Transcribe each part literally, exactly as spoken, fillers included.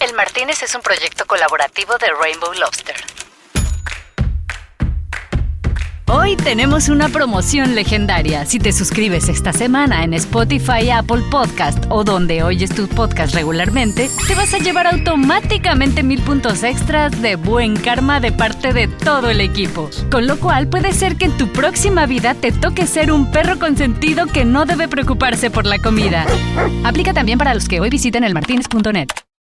El Martínez es un proyecto colaborativo de Rainbow Lobster. Hoy tenemos una promoción legendaria. Si te suscribes esta semana en Spotify, Apple Podcast o donde oyes tus podcasts regularmente, te vas a llevar automáticamente mil puntos extras de buen karma de parte de todo el equipo. Con lo cual puede ser que en tu próxima vida te toque ser un perro consentido que no debe preocuparse por la comida. Aplica también para los que hoy visiten el martinez punto net.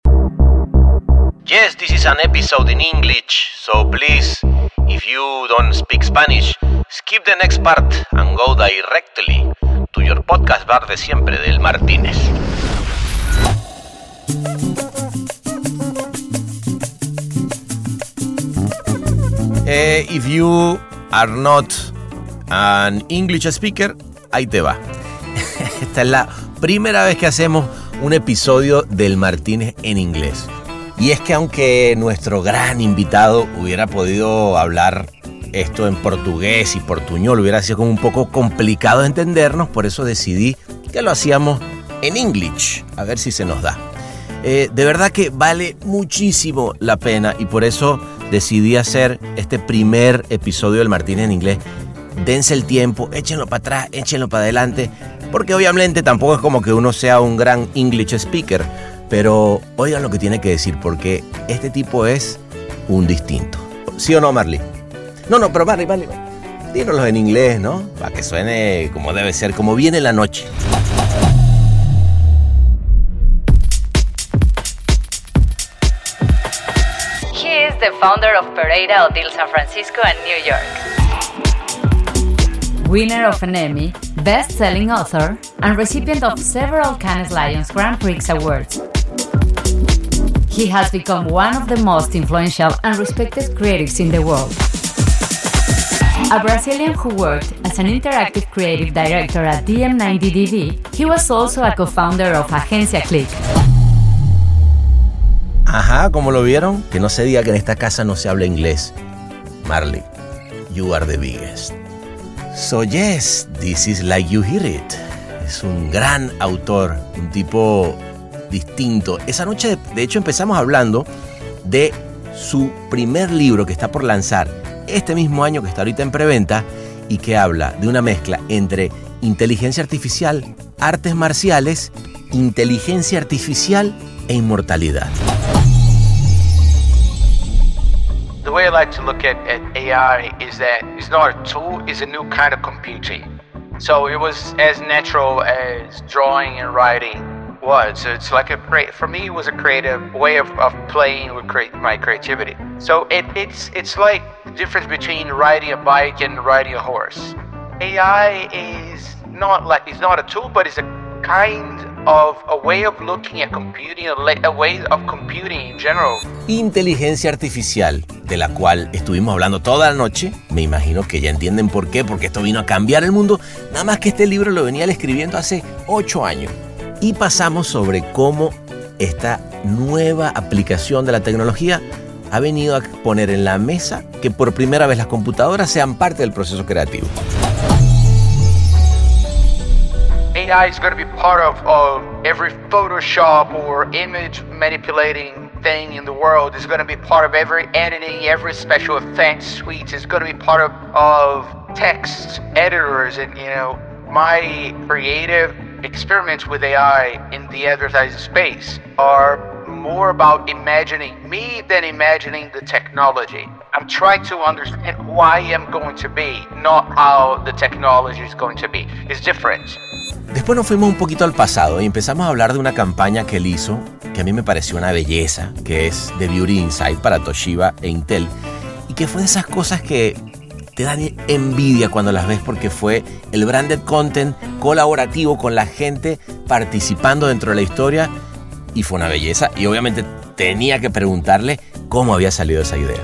Yes, this is an episode in English, so please, if you don't speak Spanish, skip the next part and go directly to your podcast bar de siempre del Martínez. Eh, if you are not an English speaker, ahí te va. Esta es la primera vez que hacemos un episodio del Martínez en inglés. Y es que aunque nuestro gran invitado hubiera podido hablar esto en portugués y portuñol, hubiera sido como un poco complicado de entendernos, por eso decidí que lo hacíamos en English, a ver si se nos da. Eh, de verdad que vale muchísimo la pena y por eso decidí hacer este primer episodio del Martínez en inglés. Dense el tiempo, échenlo para atrás, échenlo para adelante, porque obviamente tampoco es como que uno sea un gran English speaker, pero oigan lo que tiene que decir, porque este tipo es un distinto. ¿Sí o no, Marley? No, no, pero Marley, Marley, dínoslo en inglés, ¿no? Para que suene como debe ser, como viene la noche. He is the founder of Pereira Hotel San Francisco and New York. Winner of an Emmy, best-selling author, and recipient of several Cannes Lions Grand Prix awards. He has become one of the most influential and respected creatives in the world. A Brazilian who worked as an interactive creative director at D M ninety D V, he was also a co-founder of Agencia Click. Ajá, ¿cómo lo vieron? Que no se diga que en esta casa no se habla inglés. Marley, you are the biggest. So yes, this is like you hear it. Es un gran autor, un tipo distinto. Esa noche, de, de hecho, empezamos hablando de su primer libro que está por lanzar este mismo año, que está ahorita en preventa, y que habla de una mezcla entre inteligencia artificial, artes marciales, inteligencia artificial e inmortalidad. The way I like to look at, at A I is that it's not a tool, it's a new kind of computing. So it was as natural as drawing and writing was. So it's like a, for me, it was a creative way of, of playing with create my creativity. So it, it's it's like the difference between riding a bike and riding a horse. A I is not like, it's not a tool, but it's a kind of a way of looking at computing, a, a way of computing in general. Inteligencia artificial, de la cual estuvimos hablando toda la noche. Me imagino que ya entienden por qué, porque esto vino a cambiar el mundo. Nada más que este libro lo venía él escribiendo hace ocho años. Y pasamos sobre cómo esta nueva aplicación de la tecnología ha venido a poner en la mesa que por primera vez las computadoras sean parte del proceso creativo. A I is going to be part of, of every Photoshop or image manipulating thing in the world. It's going to be part of every editing, every special effects suite. It's going to be part of, of text editors. And, you know, my creative experiments with A I in the advertising space are more about imagining me than imagining the technology. I'm trying to understand who I am going to be, not how the technology is going to be. It's different. Después nos fuimos un poquito al pasado y empezamos a hablar de una campaña que él hizo, que a mí me pareció una belleza, que es The Beauty Inside para Toshiba e Intel, y que fue de esas cosas que te dan envidia cuando las ves, porque fue el branded content colaborativo con la gente participando dentro de la historia, y fue una belleza, y obviamente tenía que preguntarle cómo había salido esa idea.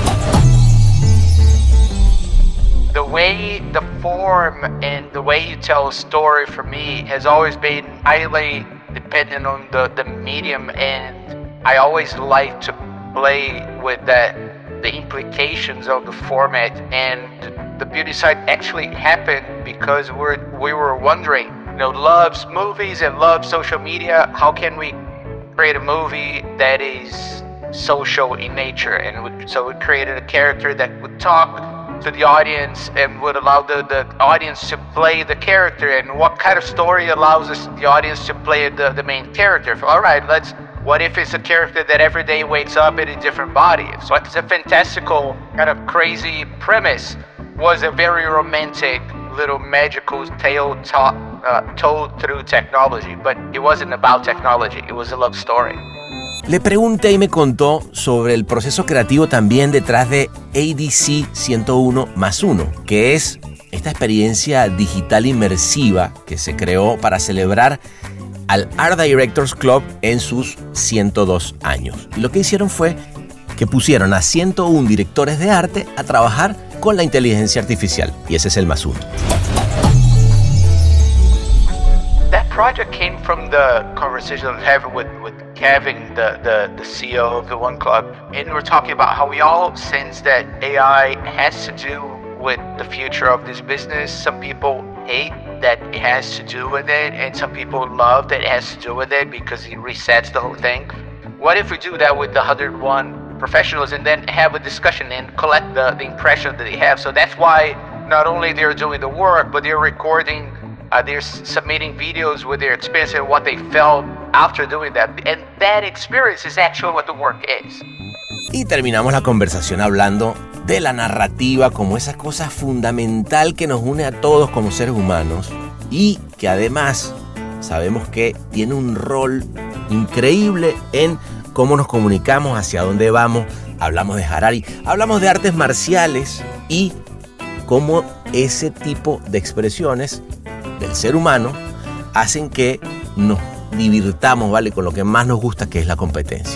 The way, the form, and the way you tell a story for me has always been highly dependent on the, the medium, and I always like to play with that, the implications of the format. And the beauty side actually happened because we're, we were wondering, you know, loves movies and loves social media, how can we create a movie that is social in nature, and we, so we created a character that would talk to the audience and would allow the, the audience to play the character. And what kind of story allows us the audience to play the, the main character? All right, let's, what if it's a character that every day wakes up in a different body? So it's a fantastical, kind of crazy premise. Was a very romantic little magical tale ta- uh, told through technology, but it wasn't about technology, it was a love story. Le pregunté y me contó sobre el proceso creativo también detrás de A D C ciento uno más uno, que es esta experiencia digital inmersiva que se creó para celebrar al Art Directors Club en sus ciento dos años. Y lo que hicieron fue que pusieron a ciento uno directores de arte a trabajar con la inteligencia artificial, y ese es el más uno. That project came from the conversation I'm having with, with Kevin, the, the, the C E O of the One Club, and we're talking about how we all sense that A I has to do with the future of this business. Some people hate that it has to do with it, and some people love that it has to do with it because it resets the whole thing. What if we do that with the one hundred one professionals and then have a discussion and collect the, the impression that they have? So that's why not only they're doing the work, but they're recording, uh, they're submitting videos with their experience and what they felt after doing that. And that experience is actually what the work is. Y terminamos la conversación hablando de la narrativa como esa cosa fundamental que nos une a todos como seres humanos y que además sabemos que tiene un rol increíble en cómo nos comunicamos, hacia dónde vamos. Hablamos de Harari, hablamos de artes marciales y cómo ese tipo de expresiones del ser humano hacen que nos divirtamos, ¿vale? Con lo que más nos gusta, que es la competencia.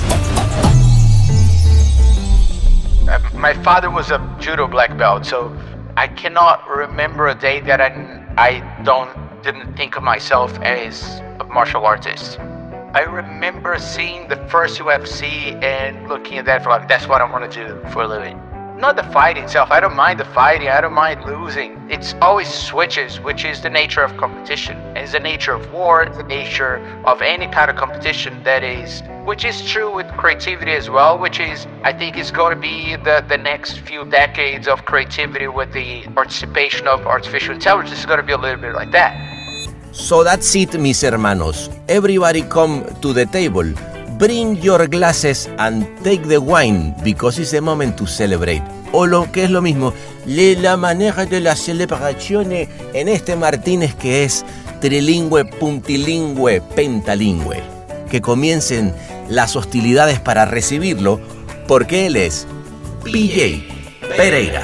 My father was a judo black belt, so I cannot remember a day that I, I don't didn't think of myself as a martial artist. I remember seeing the first U F C and looking at that for like, that's what I want to do for a living. Not the fight itself. I don't mind the fighting. I don't mind losing. It's always switches, which is the nature of competition. It's the nature of war. It's the nature of any kind of competition that is, which is true with creativity as well, which is, I think is going to be the, the next few decades of creativity with the participation of artificial intelligence is going to be a little bit like that. So that's it, mis hermanos. Everybody come to the table. Bring your glasses and take the wine, because it's the moment to celebrate. O lo que es lo mismo, le la manera de la celebración en este Martínez que es trilingüe, puntilingüe, pentalingüe. Que comiencen las hostilidades para recibirlo, porque él es P J Pereira.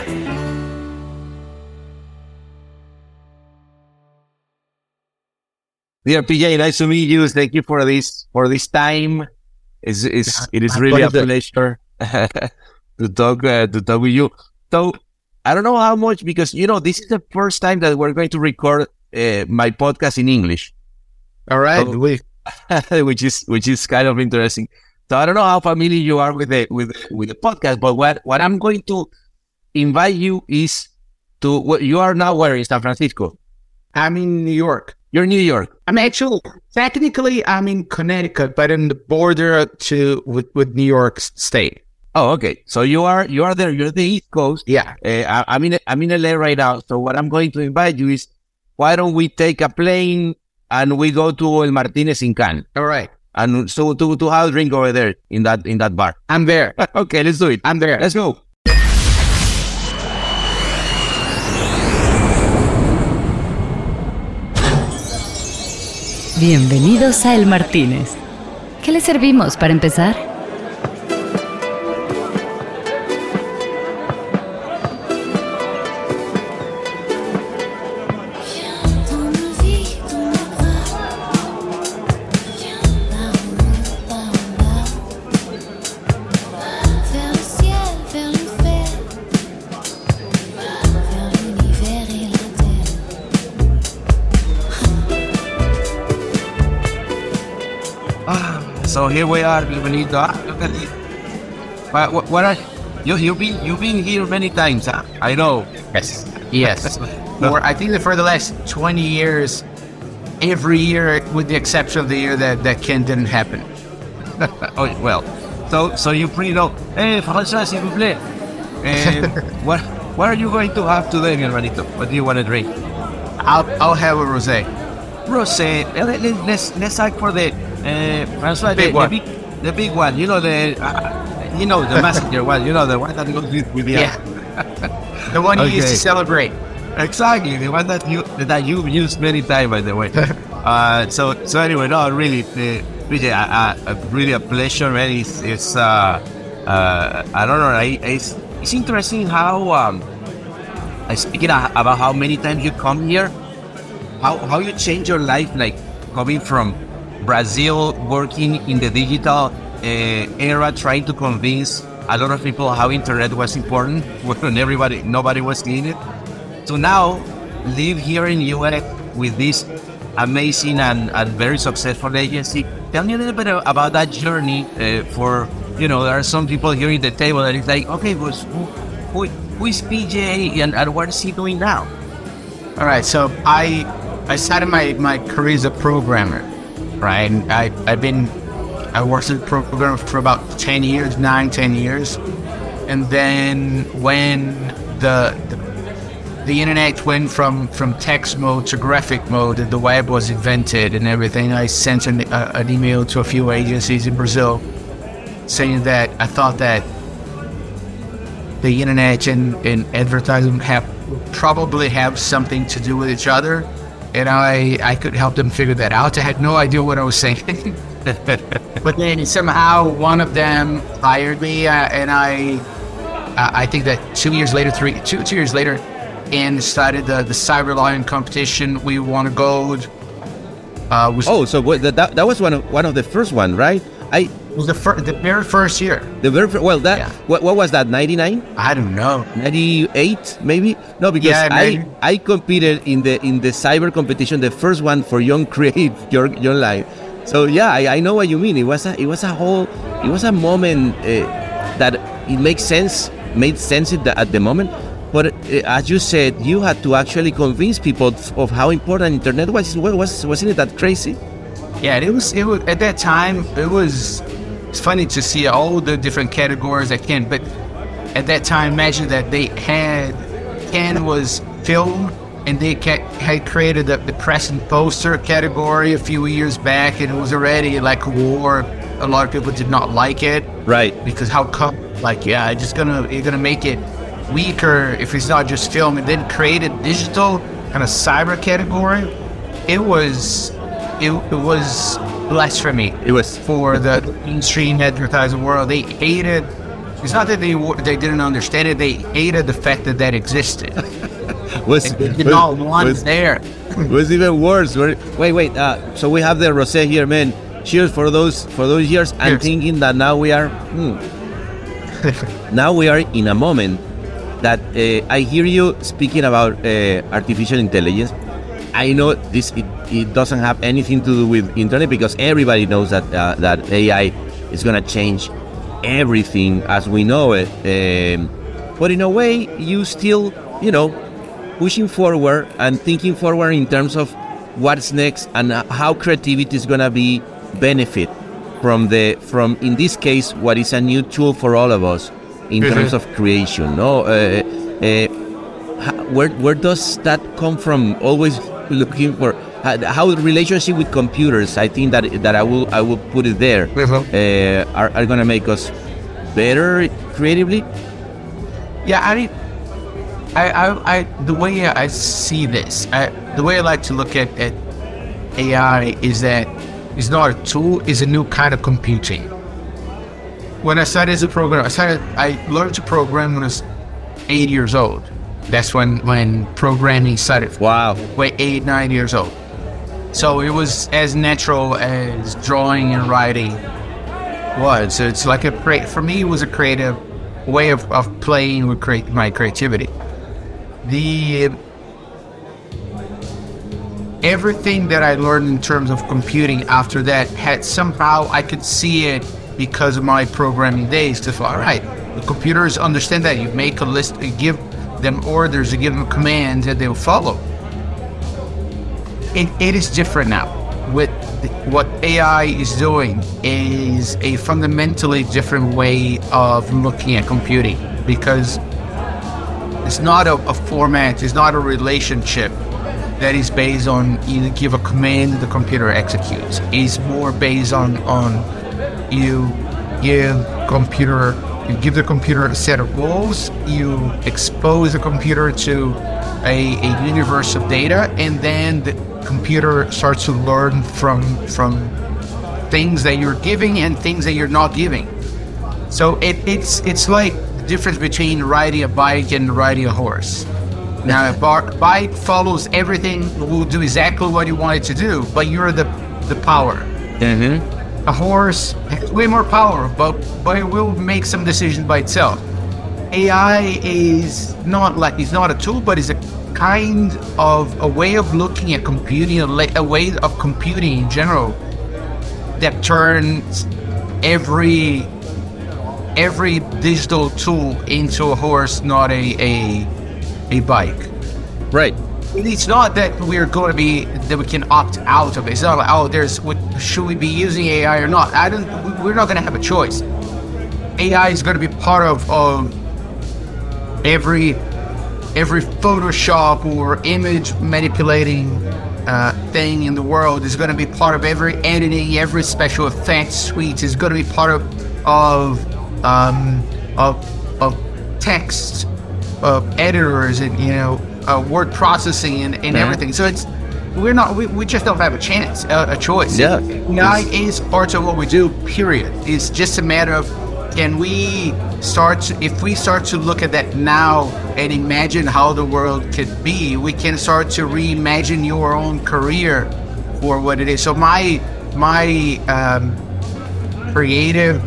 Dear P J, nice to meet you. Thank you for this for this time. It's, it's, it is really a pleasure to talk uh, to talk with you. So I don't know how much, because you know this is the first time that we're going to record uh, my podcast in English. All right, so, we... which is which is kind of interesting. So I don't know how familiar you are with the with with the podcast, but what what I'm going to invite you is to what you are now. Where in San Francisco? I'm in New York. You're in New York. I'm actually, technically, I'm in Connecticut, but in the border to with, with New York State. Oh, okay. So you are you are there. You're the East Coast. Yeah. Uh, I, I'm in I'm in L A right now. So what I'm going to invite you is, why don't we take a plane and we go to El Martínez in Cannes? All right. And so to to have a drink over there in that in that bar. I'm there. Okay, let's do it. I'm there. Let's go. Bienvenidos a El Martínez. ¿Qué le servimos para empezar? So here we are, bienvenido. Ah, look at this. What, what, what are you? You've been you've been here many times, huh? I know. Yes. Yes. For, I think that for the last twenty years, every year, with the exception of the year that that Ken didn't happen. Oh, well, so so you pretty know. Hey, François, s'il vous plaît. And what what are you going to have today, mi hermanito? What do you want to drink? I'll I'll have a rosé. Rosé. Let, let, let's let's ask for the uh, François, Big the, one. the big the big one. You know the uh, you know the messenger one. You know the one that goes with, with the Yeah. The one you used Okay. to celebrate. Exactly, the one that you that you've used many times, by the way. uh, so so anyway, no, really, the, really, uh, uh, really a pleasure, man. It's, it's uh, uh, I don't know, I, it's, it's interesting how um, I speaking of, about how many times you come here, how how you change your life, like coming from Brazil, working in the digital uh, era, trying to convince a lot of people how internet was important when everybody nobody was seeing it. So now, live here in U S with this amazing and, and very successful agency. Tell me a little bit about that journey uh, for, you know, there are some people here at the table that is like, okay, but who, who, who is P J and, and what is he doing now? All right, so I I started my, my career as a programmer, right? And I, I've been, I worked as a programmer for about ten years, nine, ten years. And then when the, the the internet went from, from text mode to graphic mode, and the web was invented and everything, I sent an, uh, an email to a few agencies in Brazil saying that I thought that the internet and, and advertising have probably have something to do with each other, and I, I could help them figure that out. I had no idea what I was saying. But then somehow one of them hired me, uh, and I uh, I think that two years later, three two two years later, and started the the Cyber Lion competition. We won a gold. Uh, was Oh, so what, that that was one of one of the first one, right? I was the fir- the very first year. the very fir- well that Yeah. what, what was that ninety-nine? I don't know. ninety-eight maybe? No, because Yeah, I maybe. I competed in the in the cyber competition, the first one for young creative your your life. So yeah, I, I know what you mean. It was a it was a whole it was a moment uh, that it makes sense made sense at the, at the moment. But uh, as you said, you had to actually convince people of how important internet was. Was wasn't it that crazy? Yeah, it was. It was at that time. It was. It's funny to see all the different categories that can. But at that time, imagine that they had Ken was film, and they ca- had created the, the press and poster category a few years back, and it was already like a war. A lot of people did not like it, Right. because how come? Like, yeah, just gonna you're gonna make it weaker if it's not just film, and then created digital kind of cyber category. It was. It, it was blasphemy. It was For the mainstream advertising world. They hated. It's not that they were- they didn't understand it. They hated the fact that that existed. was They did not want was, it there. was even worse. Wait, wait. Uh, so we have the rosé here, man. Cheers for those for those years. I'm Cheers. thinking that now we are. Hmm, now we are in a moment that uh, I hear you speaking about uh, artificial intelligence. I know this it, it doesn't have anything to do with internet, because everybody knows that uh, that A I is gonna change everything as we know it. Um, but in a way, you still, you know, pushing forward and thinking forward in terms of what's next and uh, how creativity is gonna be benefit from the from in this case what is a new tool for all of us in Mhm. terms of creation. No, uh, uh, how, where where does that come from? Always looking for how, how the relationship with computers. I think that that I will I will put it there. Mhm. Uh, are are gonna make us better creatively. Yeah, I mean, I, I, I, the way I see this, I, the way I like to look at, at A I is that it's not a tool; it's a new kind of computing. When I started as a programmer, I started. I learned to program when I was eight years old. That's when when programming started. Wow. Wait, eight, nine years old. So it was as natural as drawing and writing was. So it's like a create for me. It was a creative way of, of playing with create my creativity. The everything that I learned in terms of computing after that had somehow I could see it because of my programming days. To all right, the computers understand that you make a list, you give them orders, you give them commands, and they'll follow. It, it is different now with what A I is doing is a fundamentally different way of looking at computing, because it's not a, a format, it's not a relationship that is based on you give a command, the computer executes. It's more based on on you give computer you give the computer a set of rules, you expose the computer to a, a universe of data, and then the computer starts to learn from from things that you're giving and things that you're not giving. So it, it's it's like the difference between riding a bike and riding a horse. Now, a bar, bike follows everything, will do exactly what you want it to do, but you're the the power. Mm-hmm. A horse has way more power, but but it will make some decisions by itself. A I is not like it's not a tool, but it's a kind of a way of looking at computing, a, a way of computing in general that turns every every digital tool into a horse, not a a, a bike. Right. It's not that we're going to be that we can opt out of it. It's not like, oh, there's what should we be using A I or not? I don't. We're not going to have a choice. A I is going to be part of of every every Photoshop or image manipulating uh, thing in the world. Is going to be part of every editing, every special effects suite. Is going to be part of of um, of of text, of editors, and you know. Uh, word processing and, and mm-hmm. everything. So it's we're not we, we just don't have a chance, uh, a choice. Yeah, A I is part of what we do. Period. It's just a matter of can we start to, if we start to look at that now and imagine how the world could be, we can start to reimagine your own career for what it is. So my my um, creative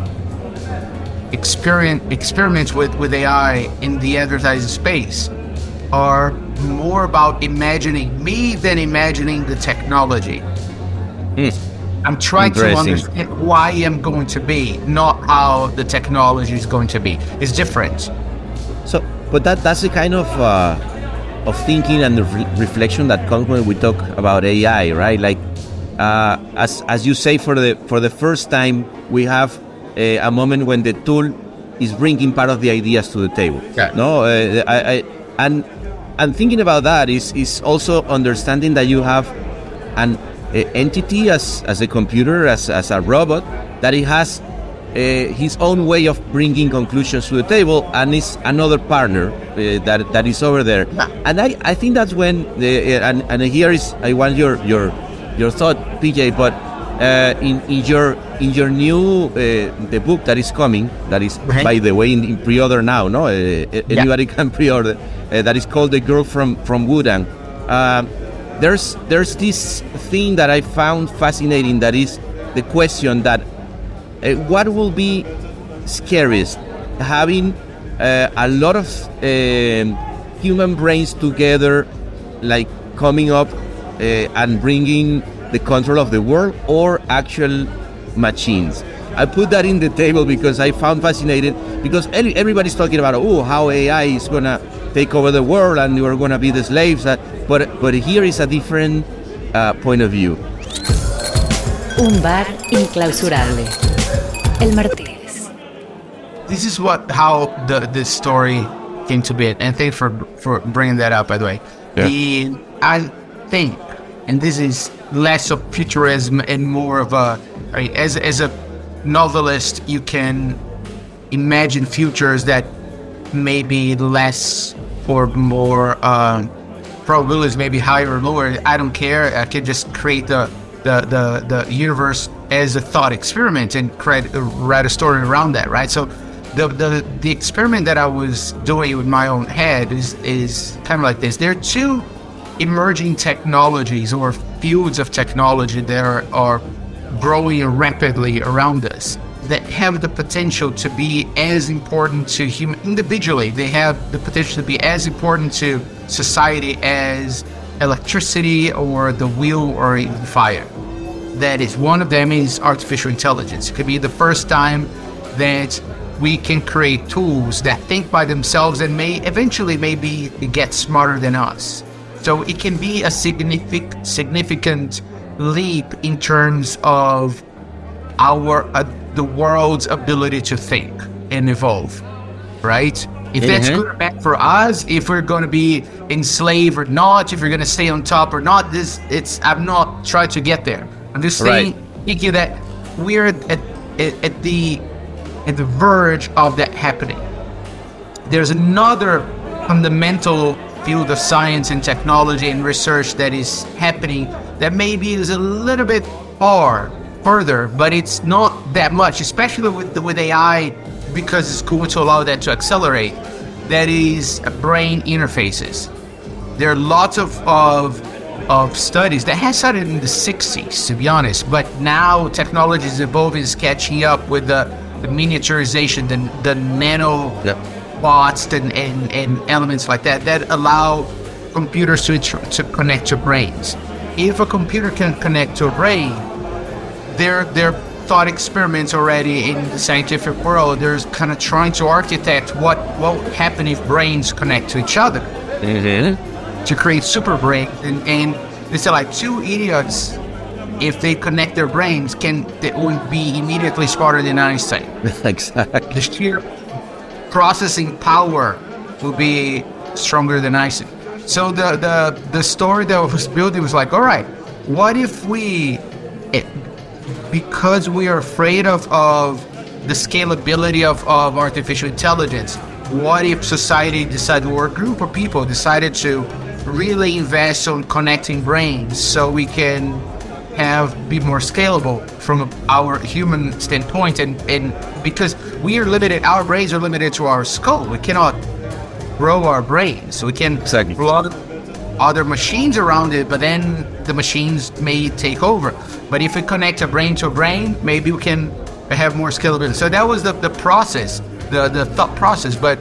experiment experiments with with A I in the advertising space are more about imagining me than imagining the technology. Mm. I'm trying to understand why I'm going to be, not how the technology is going to be. It's different. So, but that that's the kind of uh, of thinking and the re- reflection that comes when we talk about A I, right? Like, uh, as as you say, for the for the first time, we have a, a moment when the tool is bringing part of the ideas to the table. Yeah. No, uh, I, I and. And thinking about that is is also understanding that you have an uh, entity as as a computer, as as a robot, that it has uh, his own way of bringing conclusions to the table, and is another partner uh, that that is over there. And I, I think that's when the uh, and and here is I want your your your thought, P J. But uh, in in your in your new uh, the book that is coming, that is right. by the way in, in pre-order now, no, uh, anybody yeah. can pre-order. Uh, that is called The Girl from from Wudang. Uh, there's there's this thing that I found fascinating. That is the question that uh, what will be scariest, having uh, a lot of uh, human brains together, like coming up uh, and bringing the control of the world, or actual machines. I put that in the table because I found fascinating, because everybody's talking about, oh, how A I is going to take over the world and we're going to be the slaves. But but here is a different uh, point of view. Un bar inclausurable. El Martínez. This is what how the this story came to be, and thanks for for bringing that up. By the way, yeah. the I think, and this is less of futurism and more of a right, as as a novelist, you can imagine futures that may be less or more uh, probabilities, maybe higher or lower. I don't care. I can just create the the the, the universe as a thought experiment and create write a story around that, right? So the the the experiment that I was doing with my own head is is kind of like this. There are two emerging technologies or fields of technology that are, are growing rapidly around us that have the potential to be as important to human individually. They have the potential to be as important to society as electricity or the wheel or even fire. That is, one of them is artificial intelligence. It could be the first time that we can create tools that think by themselves and may eventually maybe get smarter than us. So it can be a significant significant leap in terms of our uh, the world's ability to think and evolve, right? If that's Mhm. good or bad for us, if we're going to be enslaved or not, if we're going to stay on top or not, this it's I'm not trying to get there. I'm just saying, thinking that we're at, at at the at the verge of that happening. There's another fundamental field of science and technology and research that is happening that maybe is a little bit far further, but it's not that much, especially with the, with A I, because it's going to allow that to accelerate. That is brain interfaces. There are lots of of, of studies that has started in the sixties, to be honest, but now technology is evolving, is catching up with the, the miniaturization, the, the nano Yep. bots and, and, and elements like that that allow computers to, to connect to brains. If a computer can connect to a brain, there there thought experiments already in the scientific world. There's kind of trying to architect what what would happen if brains connect to each other Mhm. to create super brains. And, and they say like two idiots, if they connect their brains, can they would be immediately smarter than Einstein. Exactly. The sheer processing power will be stronger than Einstein. So the the the story that was built, it was like, all right, what if we, it, because we are afraid of, of the scalability of, of artificial intelligence, what if society decided, or a group of people decided to really invest on connecting brains so we can have be more scalable from our human standpoint, and, and because we are limited, our brains are limited to our skull. We cannot grow our brains. So we can Exactly. plug other machines around it, but then the machines may take over. But if we connect a brain to a brain, maybe we can have more scalability. So that was the, the process, the, the thought process. But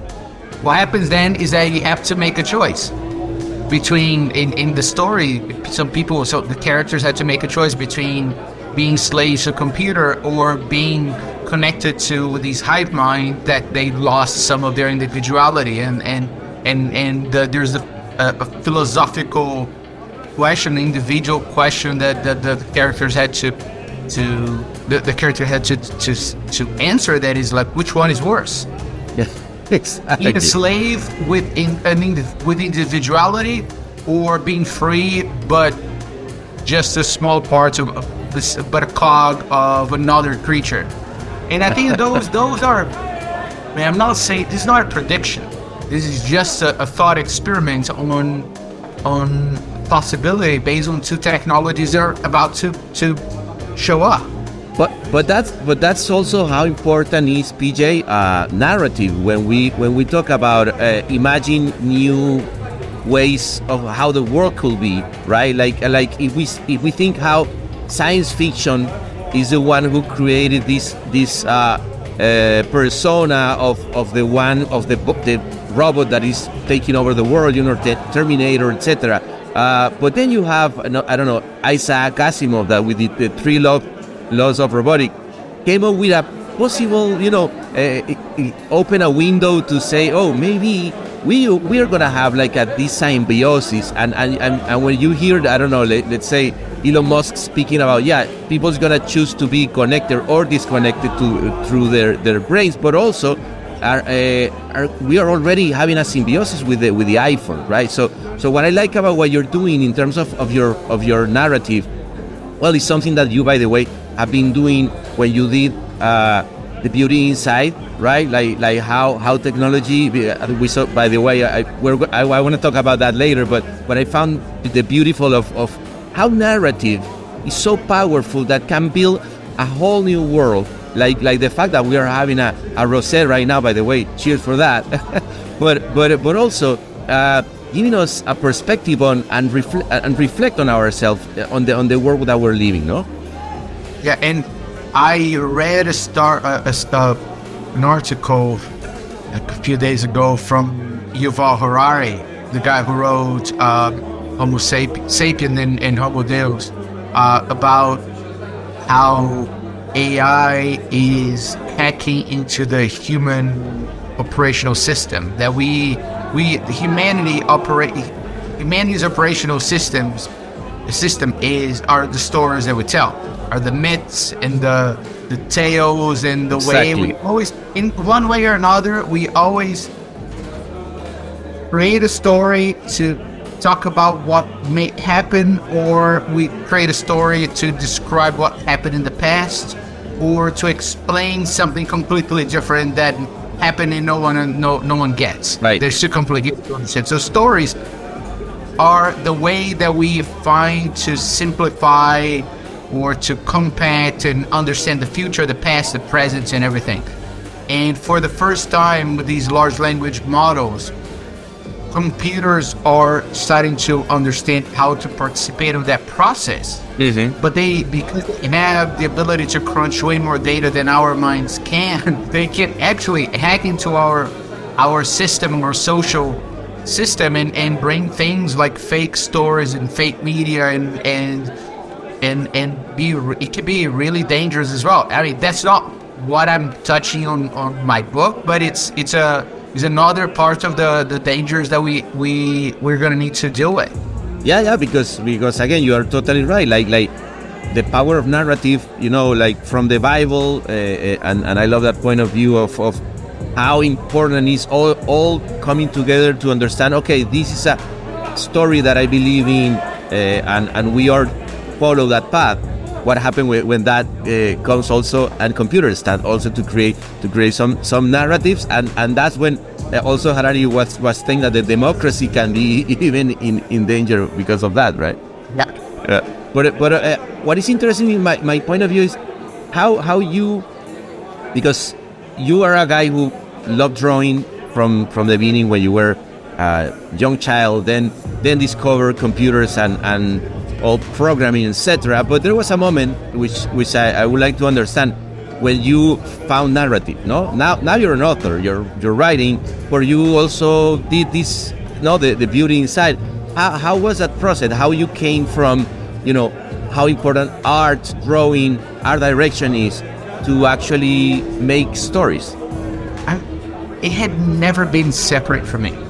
what happens then is that you have to make a choice between, in, in the story, some people, so the characters had to make a choice between being slaves to a computer or being connected to these hive mind that they lost some of their individuality. And, and, and, and the, there's a, a, a philosophical question, individual question that, that the characters had to, to the, the character had to, to, to answer, that is like, which one is worse? Yeah. Exactly. Being a slave with in, an indi- with individuality, or being free but just a small part of of this, but a cog of another creature. And I think those those are, man, I'm not saying this is not a prediction. This is just a, a thought experiment on on possibility based on two technologies that are about to to show up. But but that's but that's also how important is, P J, uh, narrative when we when we talk about uh, imagine new ways of how the world could be, right? Like like if we if we think how science fiction is the one who created this this uh, uh, persona of, of the one of the the robot that is taking over the world, you know, the Terminator, et cetera. Uh, but then you have I don't know Isaac Asimov that with the, the three laws. laws of robotics, came up with a possible, you know, uh, open a window to say, oh, maybe we we are gonna have like a this symbiosis, and and, and and when you hear, I don't know, let, let's say Elon Musk speaking about, yeah, people's gonna choose to be connected or disconnected to uh, through their, their brains, but also are, uh, are we are already having a symbiosis with the with the iPhone, right? So so what I like about what you're doing in terms of, of your of your narrative, well, it's something that you, by the way, have been doing when you did uh, The Beauty Inside, right? Like like how, how technology, we saw, by the way, I we're, I, I want to talk about that later, but what I found the beautiful of, of how narrative is so powerful that can build a whole new world. Like like the fact that we are having a, a rosé right now, by the way, cheers for that. but but but also uh, giving us a perspective on and reflect and reflect on ourselves on the on the world that we're living, no? Yeah, and I read a star, uh, a, uh, an article a few days ago from Yuval Harari, the guy who wrote uh, Homo Sapi- Sapien and, and Homo Deus, uh, about how A I is hacking into the human operational system. That we, we, humanity operate, humanity's operational systems system is are the stories that we tell, are the myths and the the tales and the Exactly. way we always, in one way or another, we always create a story to talk about what may happen, or we create a story to describe what happened in the past, or to explain something completely different that happened and no one no no one gets. Right. They're still completely different. So stories are the way that we find to simplify or to compact and understand the future, the past, the present, and everything. And for the first time with these large language models, computers are starting to understand how to participate in that process. Mm-hmm. But they, because they have the ability to crunch way more data than our minds can, they can actually hack into our our system, our social system, and, and bring things like fake stories and fake media and and and and be it can be really dangerous as well. I mean, that's not what I'm touching on, on my book, but it's it's a it's another part of the, the dangers that we we we're gonna need to deal with. Yeah, yeah, because because again, you are totally right. Like like the power of narrative, you know, like from the Bible, uh, and and I love that point of view of, of how important is all all coming together to understand. Okay, this is a story that I believe in, uh, and and we are follow that path. What happened when, when that uh, comes also, and computers start also to create to create some some narratives, and and that's when uh, also Harari was was saying that the democracy can be even in, in danger because of that, right? Yeah. Uh, but but uh, what is interesting in my, my point of view is how how you, because you are a guy who loved drawing from from the beginning when you were a young child, then then discover computers and and all programming, et cetera. But there was a moment which which I, I would like to understand when you found narrative. No, now now you're an author. You're you're writing, but you also did this. No, the, the beauty inside. How how was that process? How you came from, you know, how important art, drawing, art direction is to actually make stories. I, it had never been separate from me.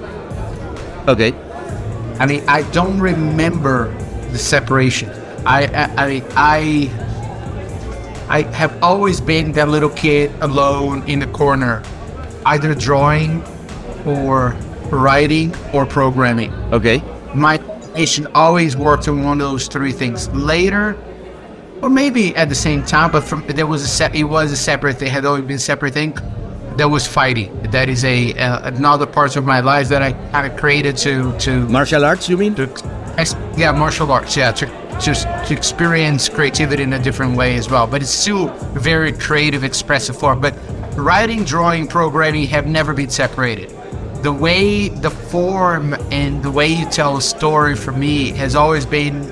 Okay. I mean, I don't remember the separation. I, I, I, I, I have always been that little kid alone in the corner, either drawing or writing or programming. Okay. My imagination always worked on one of those three things. Later, or maybe at the same time, but from there was a se- it was a separate thing. Had always been a separate thing. There was fighting. That is a uh, another part of my life that I kind of created to to Martial arts, you mean? to ex- yeah, martial arts. Yeah, to just to experience creativity in a different way as well. But it's still a very creative, expressive form. But writing, drawing, programming have never been separated. The way, the form, and the way you tell a story for me has always been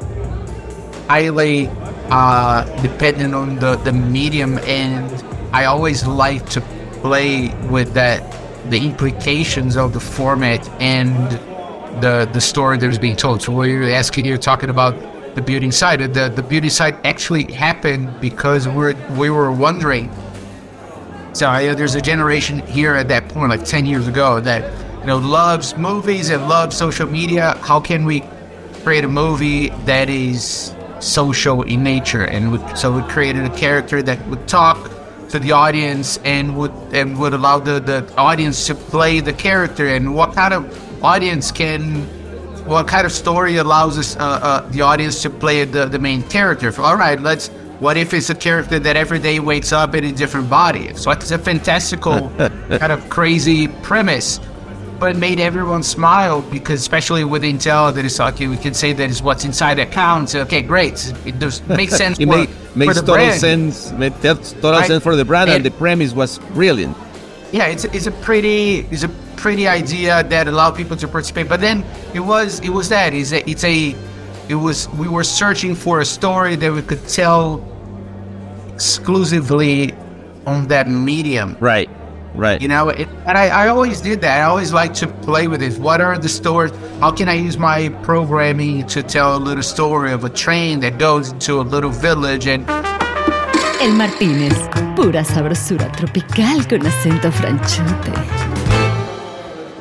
highly uh, dependent on the, the medium, and I always like to play with that, the implications of the format and the the story that is being told. So when you're asking, you're talking about the beauty side. The the beauty side actually happened because we're we were wondering. So I, there's a generation here at that point, like ten years ago, that you know loves movies and loves social media. How can we create a movie that is social in nature? And we, so we created a character that would talk to the audience and would and would allow the, the audience to play the character. And what kind of audience can, what kind of story allows us uh, uh, the audience to play the, the main character? All right, let's. What if it's a character that every day wakes up in a different body? So it's a fantastical kind of crazy premise, but it made everyone smile because, especially with Intel, that is okay, we can say that is what's inside that counts. Okay, great. It does make sense it for, made, makes for the total brand. sense. Made total Right. sense for the brand, and, And- the premise was brilliant. Yeah, it's it's a pretty it's a pretty idea that allowed people to participate. But then it was it was that it's a, it's a it was we were searching for a story that we could tell exclusively on that medium. Right, right. You know, it, and I, I always did that. I always like to play with it. What are the stories? How can I use my programming to tell a little story of a train that goes into a little village? And El Martínez, pura sabrosura tropical con acento franchute.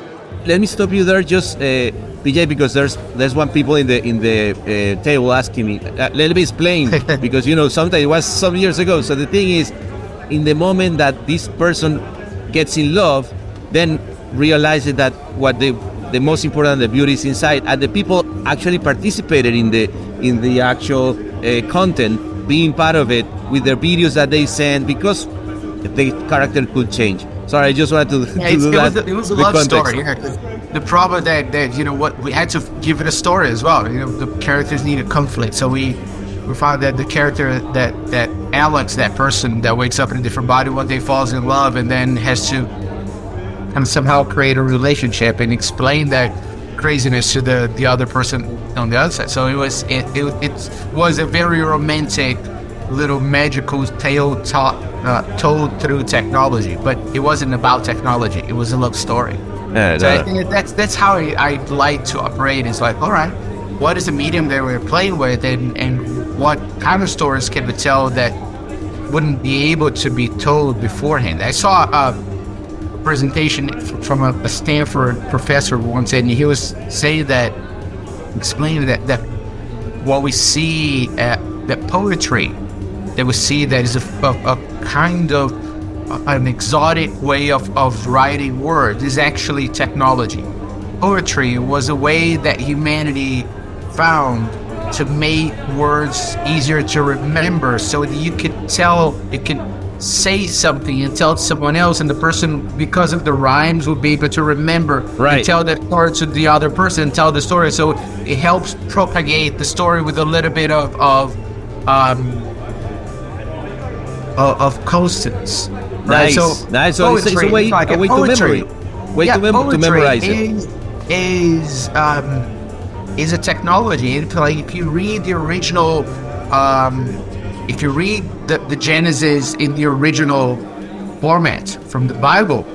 let me stop you there, just uh, P J, because there's there's one people in the in the uh, table asking me. Uh, let me explain because you know sometimes it was some years ago. So the thing is, in the moment that this person gets in love, then realizes that what the the most important, the beauty is inside, and the people actually participated in the in the actual uh, content, being part of it with their videos that they send, because the character could change. Sorry, I just wanted to, yeah, to do it that. Was a, it was a love context. story. Yeah. The problem that, that, you know, what we had to give it a story as well. You know, the characters needed conflict. So we we found that the character that, that Alex, that person that wakes up in a different body one day, falls in love and then has to and somehow create a relationship and explain that craziness to the, the other person on the other side. So it was it, it, it was a very romantic little magical tale taught, uh, told through technology, but it wasn't about technology. It was a love story. Yeah, so no. I think that's that's how I, I like to operate. It's like, all right, what is the medium that we're playing with, and, and what kind of stories can we tell that wouldn't be able to be told beforehand? I saw a presentation from a, a Stanford professor once, and he was saying that, explaining that, that what we see, uh, that poetry that we see that is a, a, a kind of an exotic way of, of writing words is actually technology. Poetry was a way that humanity found to make words easier to remember, so that you could tell, you could say something and tell it to someone else, and the person, because of the rhymes, will be able to remember right. and tell that story to the other person and tell the story. So it helps propagate the story with a little bit of of um, of, of constants. Right? Nice, So nice. So it's, it's a way, like a way poetry, to memory, way yeah, to, mem- to memorize it. Is, is um, is a technology. It's like if you read the original, um, if you read the, the Genesis in the original format from the Bible,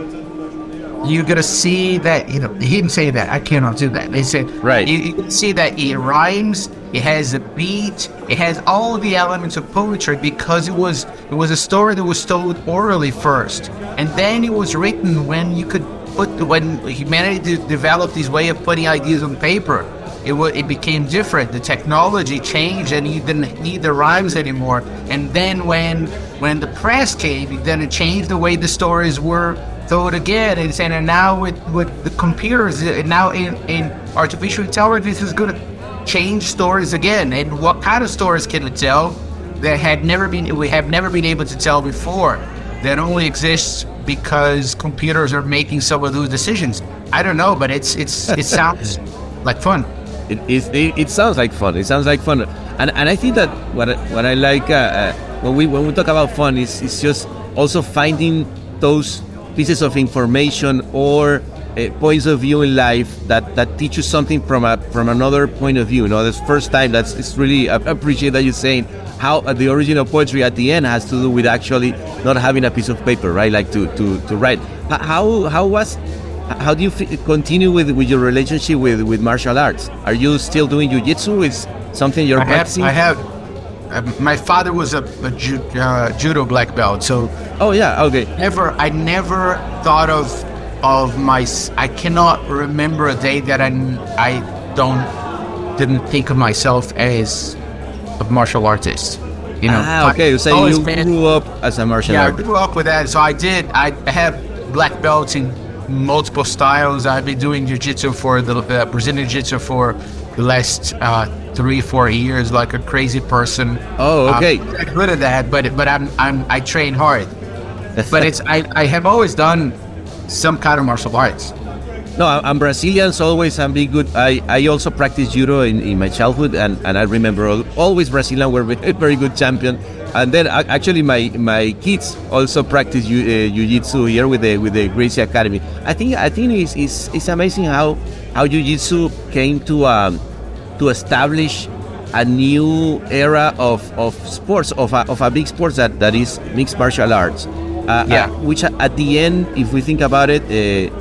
you're gonna see that, you know, he didn't say that. I cannot do that. They said, right. You, you can see that it rhymes. It has a beat. It has all the elements of poetry, because it was it was a story that was told orally first, and then it was written when you could put when humanity developed this way of putting ideas on paper. It w- it became different. The technology changed, and you didn't need the rhymes anymore. And then when when the press came, then it changed the way the stories were told again. And saying, and now with, with the computers, now in, in artificial intelligence, this is going to change stories again. And what kind of stories can we tell that had never been we have never been able to tell before? That only exists because computers are making some of those decisions. I don't know, but it's it's it sounds like fun. It, it, it sounds like fun. It sounds like fun, and and I think that what what I like uh, uh, when we when we talk about fun is is just also finding those pieces of information or uh, points of view in life that, that teach you something from a from another point of view. You know, this first time that's it's really I appreciate that you're saying how uh, the original poetry at the end has to do with actually not having a piece of paper, right? Like to to to write. How how was How do you f- continue with, with your relationship with, with martial arts? Are you still doing jiu-jitsu? Is something you're I practicing? Have, I have. Uh, my father was a, a ju- uh, judo black belt, so. Oh yeah, okay. Never, I never thought of of my. I cannot remember a day that I I don't didn't think of myself as a martial artist. You know. Ah, okay. You say you been, grew up as a martial yeah, artist. Yeah, I grew up with that. So I did. I have black belts in multiple styles. I've been doing jiu-jitsu for the uh, Brazilian jiu-jitsu for the last uh, three, four years, like a crazy person. Oh, okay. Um, I'm good at that, but but I'm I'm I train hard. But it's I, I have always done some kind of martial arts. No, I'm Brazilian, so always I'm be good. I, I also practiced judo in, in my childhood, and, and I remember always Brazilian were a very good champion. And then actually my my kids also practice jiu, uh, jiu-jitsu here with the with the Gracie Academy. I think I think it's it's, it's amazing how how jiu-jitsu came to um to establish a new era of, of sports of a, of a big sports that, that is mixed martial arts. Uh, yeah. Uh, which at the end, if we think about it, uh,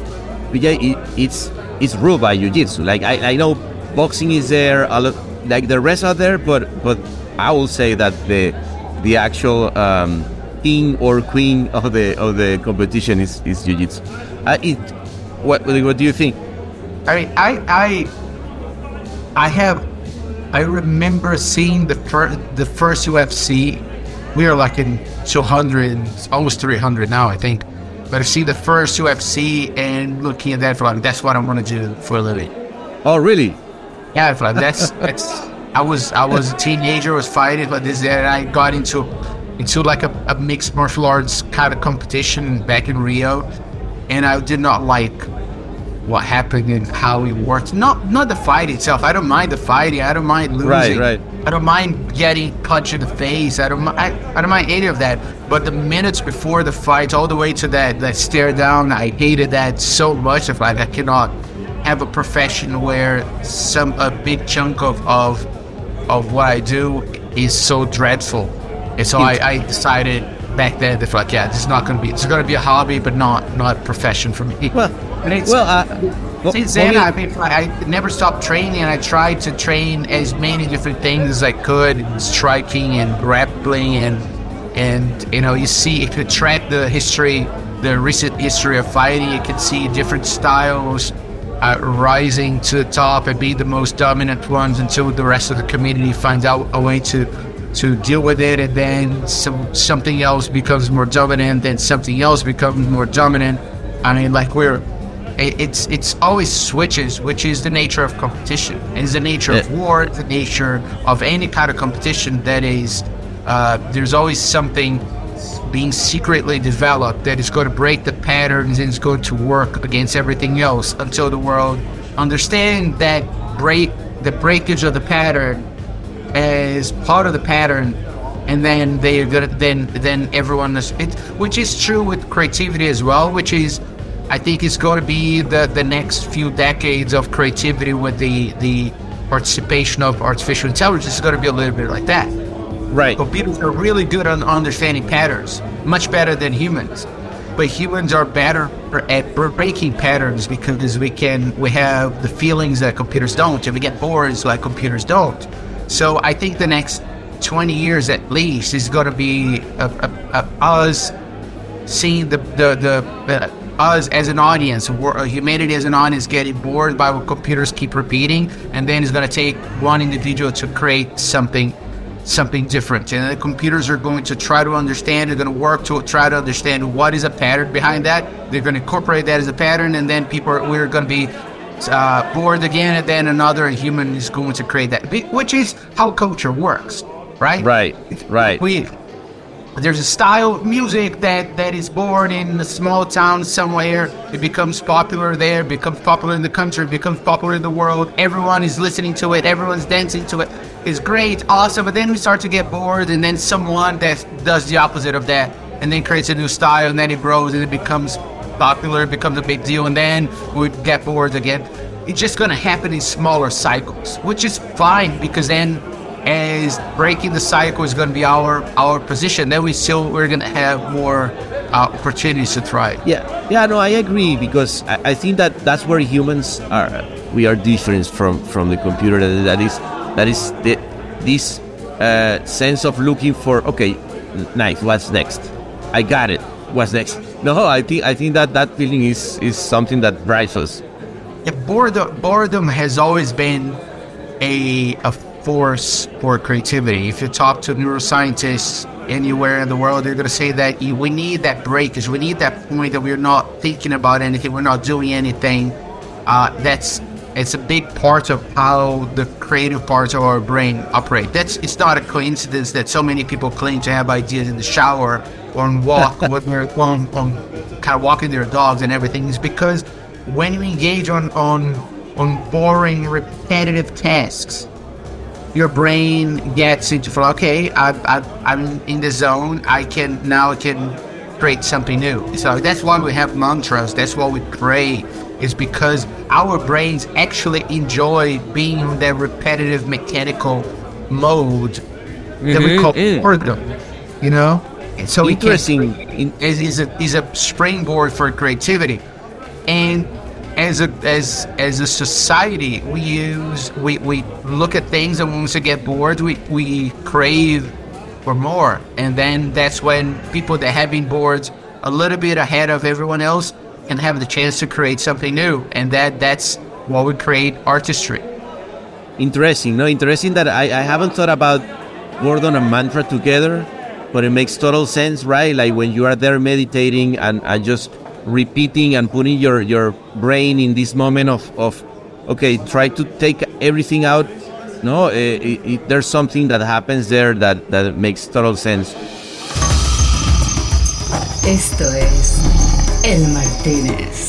it it's it's ruled by jiu-jitsu. Like I, I know boxing is there, a lot, like the rest are there, but but I will say that the the actual um, king or queen of the of the competition is, is jiu-jitsu. Uh, it what what do you think? I mean, I I I have I remember seeing the first the first U F C. We are like in two hundred, almost three hundred now, I think. But I see the first U F C and looking at that for like, that's what I'm gonna do for a living. Oh, really? Yeah, for like that's that's. I was I was a teenager, was fighting, but this and I got into into like a, a mixed martial arts kind of competition back in Rio, and I did not like what happened and how it worked. Not not the fight itself. I don't mind the fighting. I don't mind losing. Right, right. I don't mind getting punched in the face. I don't mi- I, I don't mind any of that. But the minutes before the fight, all the way to that that stare down, I hated that so much. If like I cannot have a profession where some a big chunk of of of what I do is so dreadful. And so I, I decided back then that like, yeah, this is not going to be, it's going to be a hobby, but not not a profession for me. Well, and it's, well, uh, well, since then, well, I mean, I never stopped training, and I tried to train as many different things as I could, striking and grappling, and and you know, you see, if you track the history, the recent history of fighting, you can see different styles uh, rising to the top and be the most dominant ones until the rest of the community finds out a way to to deal with it, and then some something else becomes more dominant, then something else becomes more dominant. I mean, like we're, it, it's it's always switches, which is the nature of competition. It's the nature yeah. of war, the nature of any kind of competition that is, uh, there's always something being secretly developed that is going to break the patterns and is going to work against everything else until the world understand that break, the breakage of the pattern as part of the pattern, and then they're gonna then then everyone is it, which is true with creativity as well, which is I think is going to be the the next few decades of creativity with the the participation of artificial intelligence is going to be a little bit like that. Right. Computers are really good on understanding patterns, much better than humans. But humans are better at breaking patterns because we can we have the feelings that computers don't, and we get bored like computers don't. So I think the next twenty years at least is going to be a, a, a, us seeing the the, the uh, us as an audience, humanity as an audience getting bored by what computers keep repeating, and then it's going to take one individual to create something something different. And the computers are going to try to understand, they're going to work to try to understand what is a pattern behind that. They're going to incorporate that as a pattern, and then people are, we're going to be Uh, bored again, and then another human is going to create that, which is how culture works, right? Right, right. We there's a style of music that, that is born in a small town somewhere. It becomes popular there, becomes popular in the country, becomes popular in the world. Everyone is listening to it. Everyone's dancing to it. It's great, awesome. But then we start to get bored, and then someone that does the opposite of that, and then creates a new style, and then it grows, and it becomes popular, it becomes a big deal, and then we get bored again. It's just going to happen in smaller cycles, which is fine, because then as breaking the cycle is going to be our our position, then we still we're going to have more uh, opportunities to thrive. Yeah, yeah, no, I agree, because I, I think that that's where humans are. We are different from from the computer. That, that is that is the, this uh, sense of looking for. Okay, nice. What's next? I got it. What's next? No, I think I think that that feeling is, is something that drives us. Yeah, boredom, boredom has always been a a force for creativity. If you talk to neuroscientists anywhere in the world, they're going to say that we need that break, because we need that point that we're not thinking about anything, we're not doing anything. Uh, that's it's a big part of how the creative parts of our brain operate. That's it's not a coincidence that so many people claim to have ideas in the shower or on walk when they're on, on kind of walking their dogs and everything. Is because when we engage on on on boring, repetitive tasks, your brain gets into, okay, I, I, I'm in the zone. I can now I can create something new. So that's why we have mantras. That's why we pray. Is because our brains actually enjoy being in that repetitive, mechanical mode mm-hmm, that we call mm. boredom. You know. And so interesting. It is is a is a springboard for creativity, and as a as as a society, we use we, we look at things, and once we get bored, we, we crave for more, and then that's when people that have been bored a little bit ahead of everyone else and have the chance to create something new. And that that's what would create artistry. Interesting. No, interesting that I, I haven't thought about Gordon and Mantra together, but it makes total sense, right? Like when you are there meditating and, and just repeating and putting your, your brain in this moment of, of, okay, try to take everything out. No, it, it, there's something that happens there that, that makes total sense. Esto es El Martínez.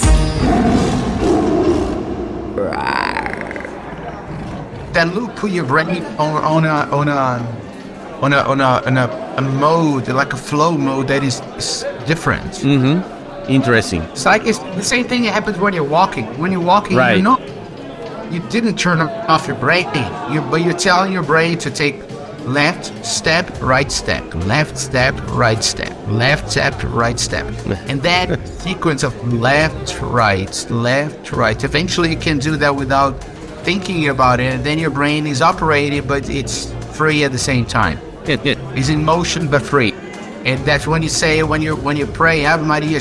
That loop put your brain on, on a on a on a on a, on a, a mode, like a flow mode that is, is different. Mm-hmm. Interesting. It's like it's the same thing that happens when you're walking. When you're walking, right. you know, you didn't turn off your brain, you, but you're telling your brain to take left step, right step, left step, right step, left step, right step. And that sequence of left, right, left, right, eventually you can do that without thinking about it, and then your brain is operating, but it's free at the same time. It's in motion, but free. And that's when you say, when you when you pray, Ave Maria,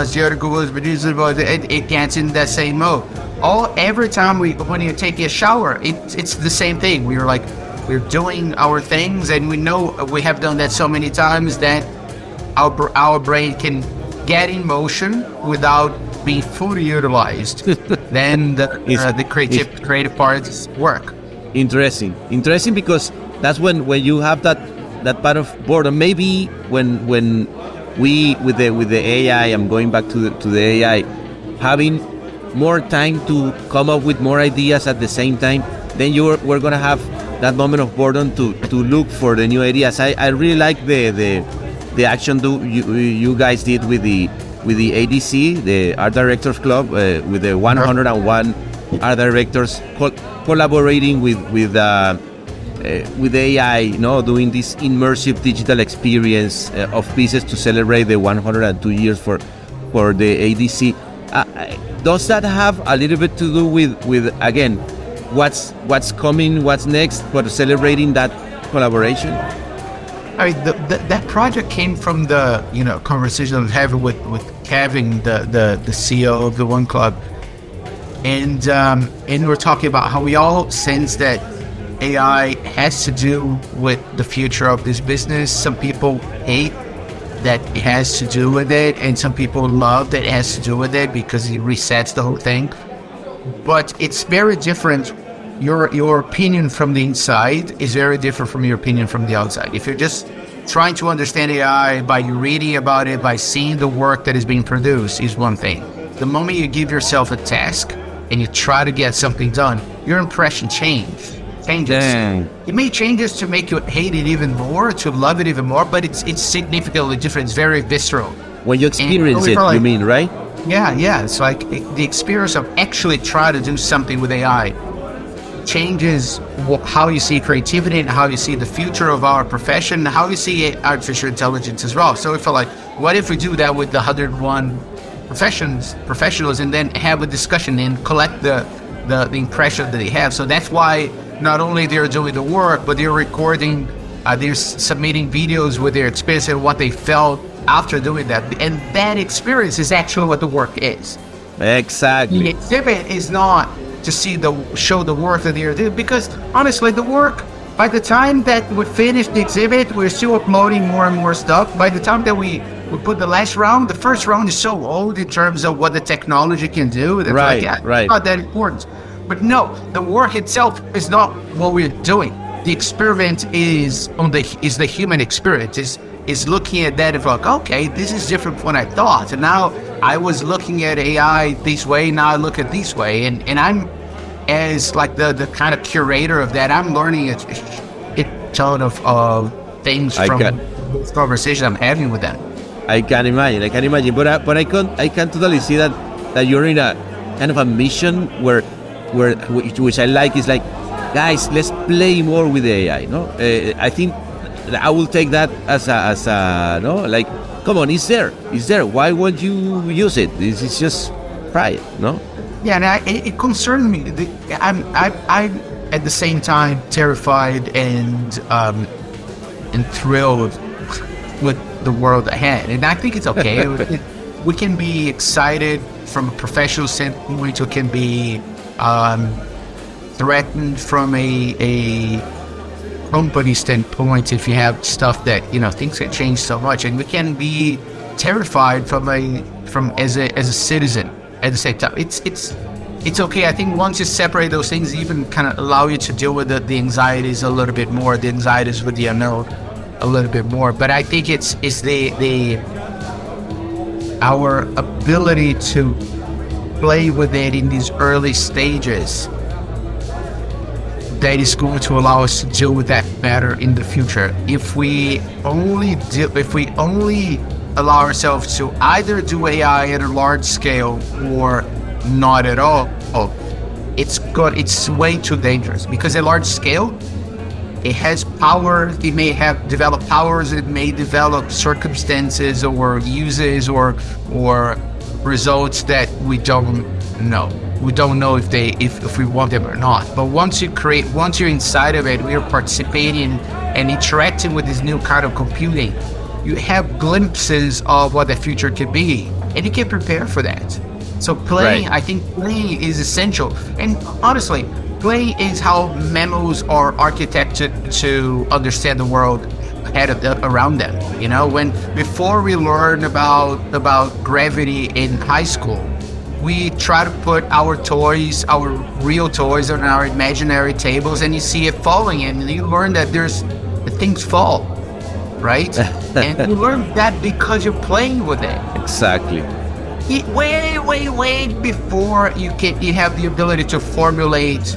it, it gets in that same mode. All every time we when you take a shower, it, it's the same thing. We're like we're doing our things, and we know we have done that so many times that our our brain can get in motion without being fully utilized. Then the uh, the creative creative parts work. Interesting, interesting because that's when when you have that. That part of boredom, maybe when when we with the with the A I, I'm going back to the, to the A I, having more time to come up with more ideas at the same time, then you're we're gonna have that moment of boredom to, to look for the new ideas. I, I really like the the the action do you you guys did with the with the A D C, the Art Directors Club, uh, with the one hundred and one art directors co- collaborating with with. Uh, Uh, with A I, you know, doing this immersive digital experience uh, of pieces to celebrate the one hundred two years for for the A D C. Uh, does that have a little bit to do with, with again, what's what's coming, what's next, for celebrating that collaboration? I mean, the, the, that project came from the you know conversation I was having with with Kevin, the the, the C E O of the One Club, and um, and we're talking about how we all sense that A I has to do with the future of this business. Some people hate that it has to do with it, and some people love that it has to do with it because it resets the whole thing. But it's very different. Your your opinion from the inside is very different from your opinion from the outside. If you're just trying to understand A I by you reading about it, by seeing the work that is being produced, is one thing. The moment you give yourself a task and you try to get something done, your impression changes. Changes. Dang. It may changes to make you hate it even more, to love it even more, but it's it's significantly different. It's very visceral. When you experience it, like, you mean, right? Yeah, yeah. It's like it, the experience of actually trying to do something with A I changes wh- how you see creativity and how you see the future of our profession, how you see artificial intelligence as well. So we feel like, what if we do that with the one hundred one professions, professionals, and then have a discussion and collect the, the, the impression that they have. So that's why not only they're doing the work, but they're recording, uh, they're s- submitting videos with their experience and what they felt after doing that. And that experience is actually what the work is. Exactly. The exhibit is not to see the show the work that they're doing, because honestly, the work, by the time that we finish the exhibit, we're still uploading more and more stuff. By the time that we, we put the last round, the first round is so old in terms of what the technology can do. That right, like, yeah, right. It's not that important. But no, the work itself is not what we're doing. The experiment is on the is the human experience. Is is looking at that and like, okay, this is different from what I thought. And now I was looking at A I this way, now I look at this way. And, and I'm, as like the, the kind of curator of that, I'm learning a, a ton of uh, things I from can, this conversation I'm having with them. I can imagine, I can imagine. But I, but I can I can totally see that, that you're in a kind of a mission where where which, which I like is like, guys, let's play more with the A I. No, uh, I think I will take that as a as a no, like, come on, it's there, it's there. Why won't you use it? This is just try it, no? Yeah, and I, it, it concerns me. The, I'm I I'm at the same time terrified and um and thrilled with the world ahead, and I think it's okay. it, we can be excited from a professional standpoint, it can be um, threatened from a, a company standpoint if you have stuff that, you know, things can change so much, and we can be terrified from a from as a as a citizen at the same time. It's it's it's okay. I think once you separate those things, even kind of allow you to deal with the, the anxieties a little bit more, the anxieties with the unknown a little bit more. But I think it's it's the the our ability to play with it in these early stages that is going to allow us to deal with that better in the future. If we only do, if we only allow ourselves to either do A I at a large scale or not at all, it's good. It's way too dangerous, because at large scale, it has power. It may have developed powers. It may develop circumstances or uses or or results that we don't know. We don't know if they if, if we want them or not. But once you create, once you're inside of it, we are participating and interacting with this new kind of computing. You have glimpses of what the future could be, and you can prepare for that. So playing, right. I think playing is essential. And honestly, play is how mammals are architected to understand the world ahead of the, around them. You know, when before we learn about about gravity in high school, we try to put our toys, our real toys, on our imaginary tables, and you see it falling, and you learn that there's that things fall, right? And you learn that because you're playing with it. Exactly. It, way, way, way before you can, you have the ability to formulate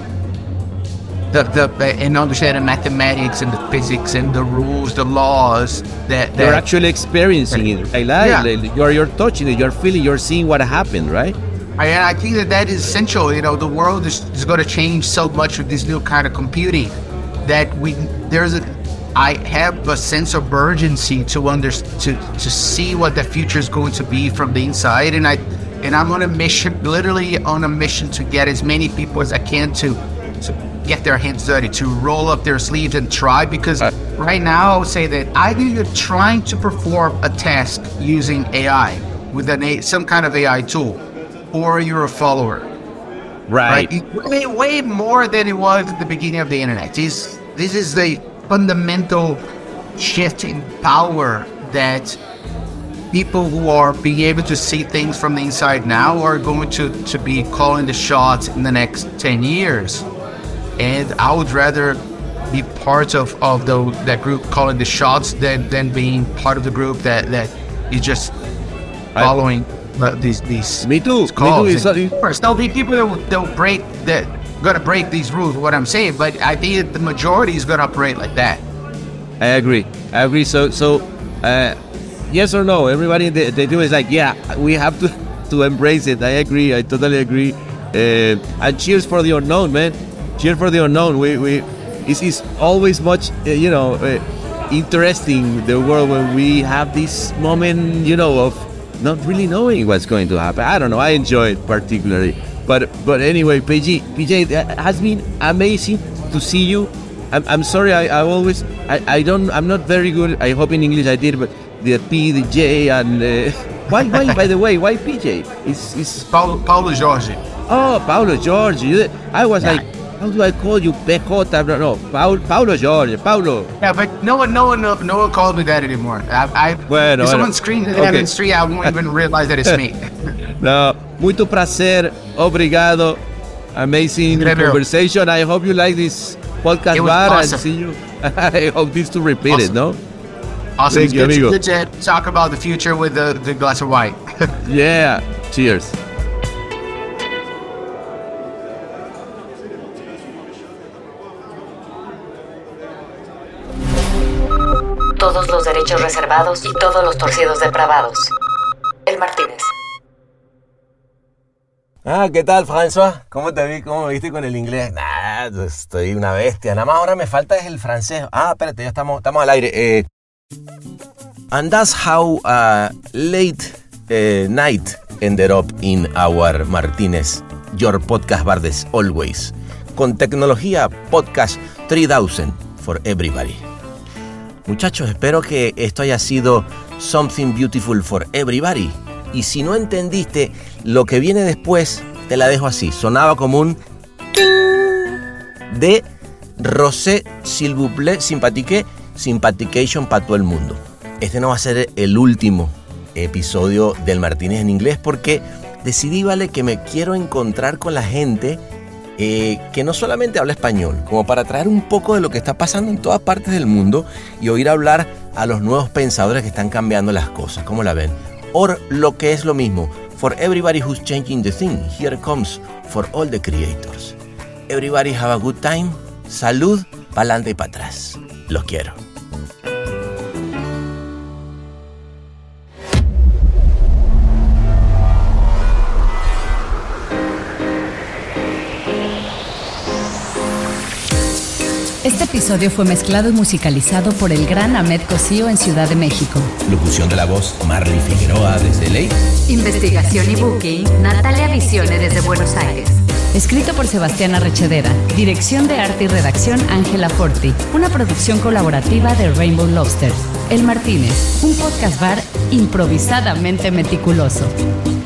the the and understand the mathematics and the physics and the rules, the laws that, that you're actually experiencing it. Right? Yeah. You're you're touching it. You're feeling. You're seeing what happened, right? I, I think that that is essential. You know, the world is, is going to change so much with this new kind of computing that we there's a. I have a sense of urgency to under to to see what the future is going to be from the inside, and I and I'm on a mission, literally on a mission to get as many people as I can to to get their hands dirty, to roll up their sleeves and try. Because uh, right now I would say that either you're trying to perform a task using A I with an a, some kind of A I tool, or you're a follower. Right. right? Way, way more than it was at the beginning of the internet. This this is the fundamental shift in power that people who are being able to see things from the inside now are going to, to be calling the shots in the next ten years. And I would rather be part of, of the, that group calling the shots than, than being part of the group that, that is just following I, uh, these these me too. calls. Me too. Of course, there'll be people that will, they'll break that. Going to break these rules, what I'm saying, but I think the majority is going to operate like that. I agree. I agree. So, so uh, yes or no? Everybody they, they do is like, yeah, we have to to embrace it. I agree. I totally agree. Uh, and cheers for the unknown, man. Cheers for the unknown. We we it's, it's always much uh, you know uh, interesting the world when we have this moment, you know, of not really knowing what's going to happen. I don't know. I enjoy it particularly. But but anyway, P J, P J, it has been amazing to see you. I'm, I'm sorry, I, I always, I, I don't, I'm not very good. I hope in English I did, but the P, the J, and uh, why, why, by the way, why P J? It's, it's Paulo, Paulo Jorge. Oh, Paulo Jorge. You, I was yeah. like, how do I call you? P J? I don't know. Paulo, Paulo Jorge, Paulo. Yeah, but no one, no one, no, no one calls me that anymore. I, I bueno, if someone bueno. screams that okay. I'm in the street, I won't even realize that it's me. No, muito prazer, obrigado, amazing Incredible. conversation. I hope you like this podcast bar awesome. and see you. I hope this to repeat awesome. it, no? Awesome, Thank it's you, good, amigo. to, good to talk about the future with the, the glass of wine. Yeah, cheers. Todos los derechos reservados y todos los torcidos depravados. El Martínez. Ah, ¿qué tal, François? ¿Cómo te vi? ¿Cómo me viste con el inglés? Nah, estoy una bestia. Nada más ahora me falta es el francés. Ah, espérate, ya estamos, estamos al aire. Eh, and that's how uh, late uh, night ended up in our Martínez, your podcast bar as always. Con tecnología podcast three thousand for everybody. Muchachos, espero que esto haya sido something beautiful for everybody. Y si no entendiste lo que viene después, te la dejo así. Sonaba como un de Rosé, s'il vous plaît, sympathique, sympathication para todo el mundo. Este no va a ser el último episodio del Martínez en inglés porque decidí, vale, que me quiero encontrar con la gente eh, que no solamente habla español, como para traer un poco de lo que está pasando en todas partes del mundo y oír hablar a los nuevos pensadores que están cambiando las cosas. ¿Cómo la ven? O lo que es lo mismo, for everybody who's changing the thing, here comes for all the creators. Everybody have a good time. Salud, pa'lante y para atrás. Los quiero. Este episodio fue mezclado y musicalizado por el gran Ahmed Cosío en Ciudad de México. Locución de la voz, Marley Figueroa desde L A. Investigación y booking, Natalia Visione desde Buenos Aires. Escrito por Sebastián Arrechedera. Dirección de arte y redacción, Ángela Forti. Una producción colaborativa de Rainbow Lobster. El Martínez, un podcast bar improvisadamente meticuloso.